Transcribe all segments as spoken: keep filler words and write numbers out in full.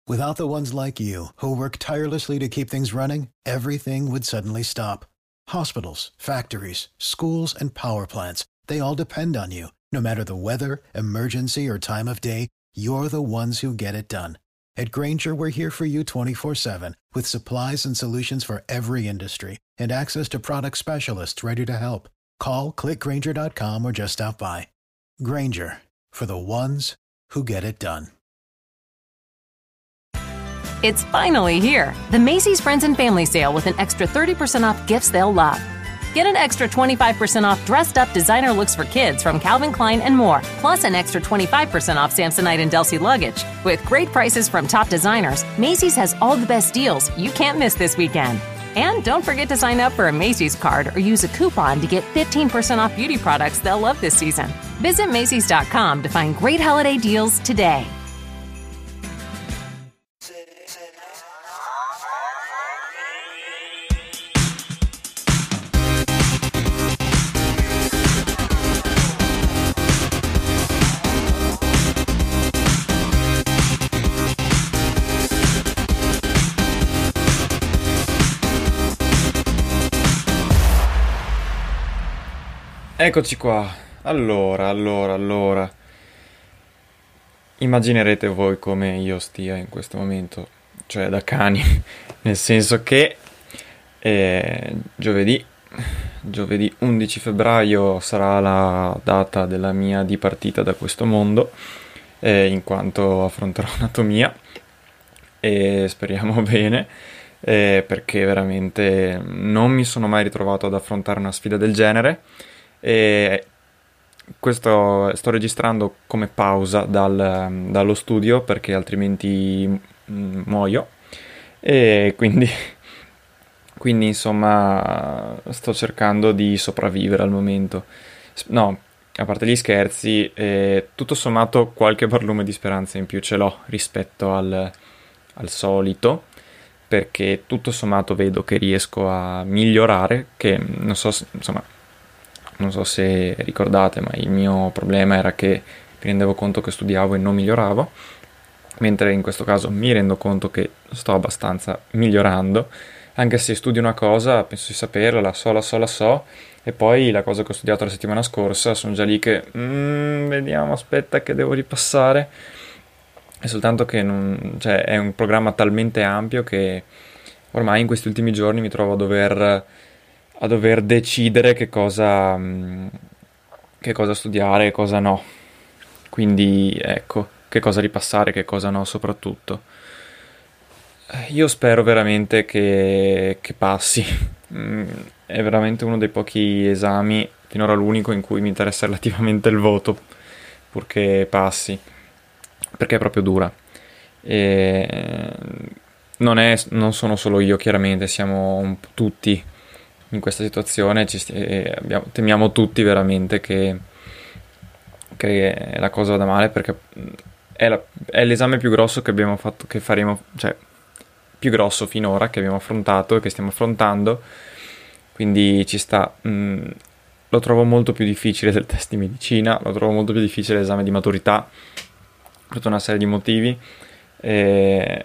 Without the ones like you, who work tirelessly to keep things running, everything would suddenly stop. Hospitals, factories, schools, and power plants, they all depend on you. No matter the weather, emergency, or time of day, you're the ones who get it done. At Grainger, we're here for you twenty-four seven, with supplies and solutions for every industry, and access to product specialists ready to help. Call, click grainger dot com, or just stop by. Grainger, for the ones who get it done. It's finally here, the Macy's Friends and Family Sale with an extra thirty percent off gifts they'll love. Get an extra twenty-five percent off dressed-up designer looks for kids from Calvin Klein and more, plus an extra twenty-five percent off Samsonite and Delsey luggage. With great prices from top designers, Macy's has all the best deals you can't miss this weekend. And don't forget to sign up for a Macy's card or use a coupon to get fifteen percent off beauty products they'll love this season. Visit Macys dot com to find great holiday deals today. Eccoci qua. Allora, allora, allora. Immaginerete voi come io stia in questo momento, cioè da cani, nel senso che eh, giovedì, giovedì undici febbraio sarà la data della mia dipartita da questo mondo, eh, in quanto affronterò anatomia e speriamo bene, eh, perché veramente non mi sono mai ritrovato ad affrontare una sfida del genere. E questo sto registrando come pausa dal, dallo studio perché altrimenti mm, muoio e quindi, quindi insomma sto cercando di sopravvivere al momento. No, a parte gli scherzi, eh, tutto sommato qualche barlume di speranza in più ce l'ho rispetto al, al solito, perché tutto sommato vedo che riesco a migliorare, che non so, insomma, non so se ricordate, ma il mio problema era che mi rendevo conto che studiavo e non miglioravo, mentre in questo caso mi rendo conto che sto abbastanza migliorando, anche se studio una cosa, penso di saperla, la so, la so, la so, e poi la cosa che ho studiato la settimana scorsa, sono già lì che, mm, vediamo, aspetta che devo ripassare, è soltanto che non, cioè, è un programma talmente ampio che ormai in questi ultimi giorni mi trovo a dover... a dover decidere che cosa che cosa studiare e cosa no, quindi ecco, che cosa ripassare, che cosa no soprattutto. Io spero veramente che, che passi. È veramente uno dei pochi esami, finora l'unico, in cui mi interessa relativamente il voto, purché passi, perché è proprio dura. E non è, non sono solo io, chiaramente, siamo un po' tutti in questa situazione, ci sti- abbiamo, temiamo tutti veramente che, che la cosa vada male, perché è, la, è l'esame più grosso che abbiamo fatto, che faremo, cioè più grosso finora che abbiamo affrontato e che stiamo affrontando, quindi ci sta. Mh, lo trovo molto più difficile del test di medicina, lo trovo molto più difficile l'esame di maturità per tutta una serie di motivi. E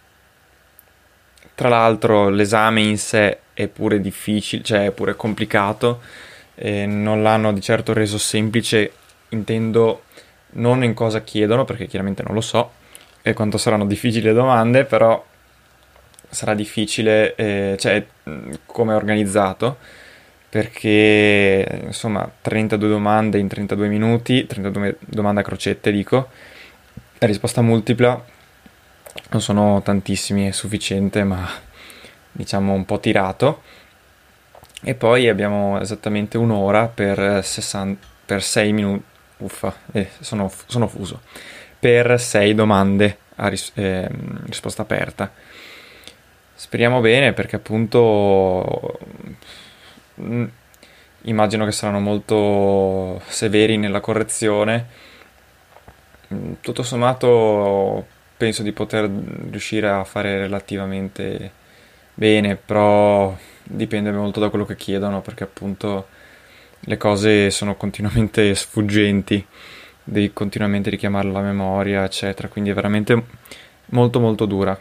tra l'altro l'esame in sé è pure difficile, cioè è pure complicato, e non l'hanno di certo reso semplice, intendo non in cosa chiedono, perché chiaramente non lo so, e quanto saranno difficili le domande, però sarà difficile, eh, cioè come è organizzato, perché insomma trentadue domande in trentadue minuti, trentadue domande a crocette dico, la risposta multipla, non sono tantissimi, è sufficiente, ma diciamo un po' tirato, e poi abbiamo esattamente un'ora per sessanta, per sei minuti, uffa, eh, sono, sono fuso, per sei domande a ris- eh, risposta aperta. Speriamo bene, perché appunto mh, immagino che saranno molto severi nella correzione. Mh, tutto sommato penso di poter riuscire a fare relativamente bene, però dipende molto da quello che chiedono, perché appunto le cose sono continuamente sfuggenti, devi continuamente richiamarle alla memoria, eccetera, quindi è veramente molto molto dura.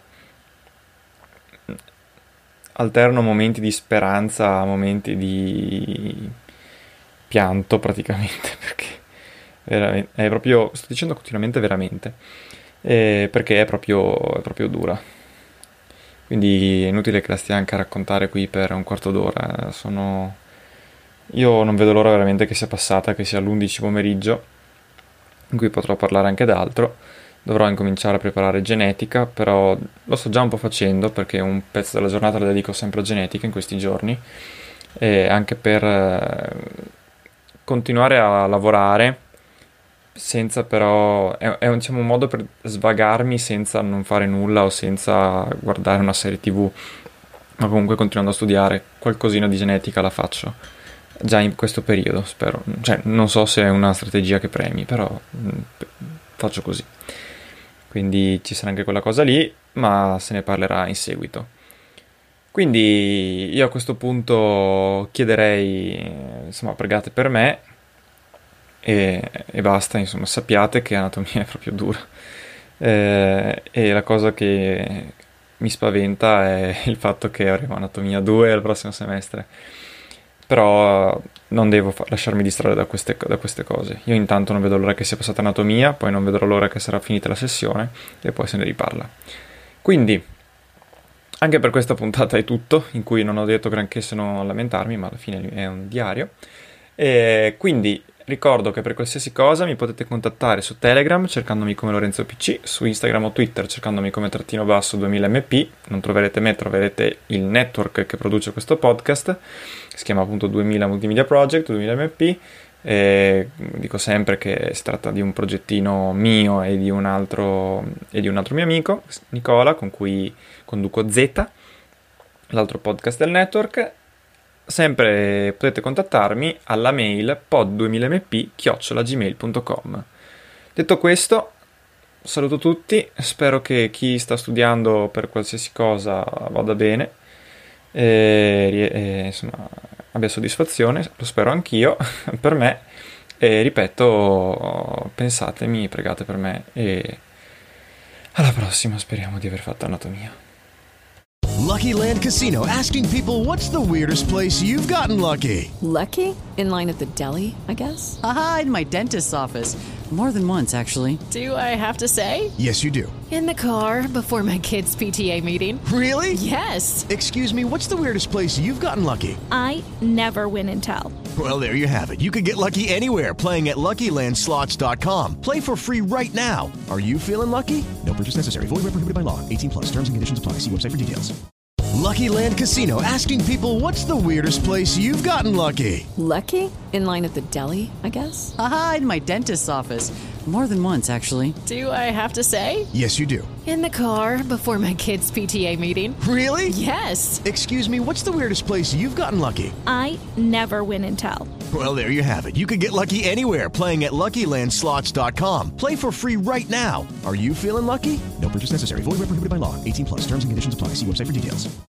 Alterno momenti di speranza a momenti di pianto praticamente, perché veramente, è proprio, sto dicendo continuamente veramente, eh, perché è proprio, è proprio dura. Quindi è inutile che la stia anche a raccontare qui per un quarto d'ora. Sono... Io non vedo l'ora veramente che sia passata, che sia l'undici pomeriggio, in cui potrò parlare anche d'altro. Dovrò incominciare a preparare genetica, però lo sto già un po' facendo, perché un pezzo della giornata la dedico sempre a genetica in questi giorni, e anche per eh, continuare a lavorare, senza però... È, è diciamo, un modo per svagarmi senza non fare nulla o senza guardare una serie tv, ma comunque continuando a studiare. Qualcosina di genetica la faccio già in questo periodo, spero. Cioè, non so se è una strategia che premi, però mh, faccio così. Quindi ci sarà anche quella cosa lì, ma se ne parlerà in seguito. Quindi io a questo punto chiederei, insomma, pregate per me e, e basta, insomma, sappiate che anatomia è proprio dura. Eh, e la cosa che mi spaventa è il fatto che avremo anatomia due al prossimo semestre. Però non devo fa- lasciarmi distrarre da queste, da queste cose. Io intanto non vedo l'ora che sia passata anatomia, poi non vedrò l'ora che sarà finita la sessione e poi se ne riparla. Quindi, anche per questa puntata è tutto, in cui non ho detto granché se non lamentarmi, ma alla fine è un diario. E quindi ricordo che per qualsiasi cosa mi potete contattare su Telegram cercandomi come Lorenzo P C, su Instagram o Twitter cercandomi come trattino basso duemila M P. Non troverete me, troverete il network che produce questo podcast, si chiama appunto duemila Multimedia Project, duemila M P. E dico sempre che si tratta di un progettino mio e di un altro, e di un altro mio amico, Nicola, con cui conduco Z, l'altro podcast del network. Sempre potete contattarmi alla mail pod duemila m p chiocciola gmail punto com. Detto questo, saluto tutti, spero che chi sta studiando per qualsiasi cosa vada bene e, e insomma abbia soddisfazione, lo spero anch'io per me, e ripeto, pensatemi, pregate per me e alla prossima, speriamo di aver fatto anatomia. Lucky Land Casino, asking people, what's the weirdest place you've gotten lucky? Lucky? In line at the deli, I guess? Aha, in my dentist's office. More than once, actually. Do I have to say? Yes, you do. In the car before my kids' P T A meeting. Really? Yes. Excuse me, what's the weirdest place you've gotten lucky? I never win and tell. Well, there you have it. You can get lucky anywhere, playing at Lucky Land Slots dot com. Play for free right now. Are you feeling lucky? No purchase necessary. Void where prohibited by law. eighteen plus. Terms and conditions apply. See website for details. Lucky Land Casino, asking people, what's the weirdest place you've gotten lucky? Lucky? In line at the deli, I guess? Aha, in my dentist's office. More than once, actually. Do I have to say? Yes, you do. In the car before my kids' P T A meeting. Really? Yes. Excuse me, what's the weirdest place you've gotten lucky? I never win and tell. Well, there you have it. You can get lucky anywhere, playing at Lucky Land Slots dot com. Play for free right now. Are you feeling lucky? No purchase necessary. Void where prohibited by law. eighteen plus. Terms and conditions apply. See website for details.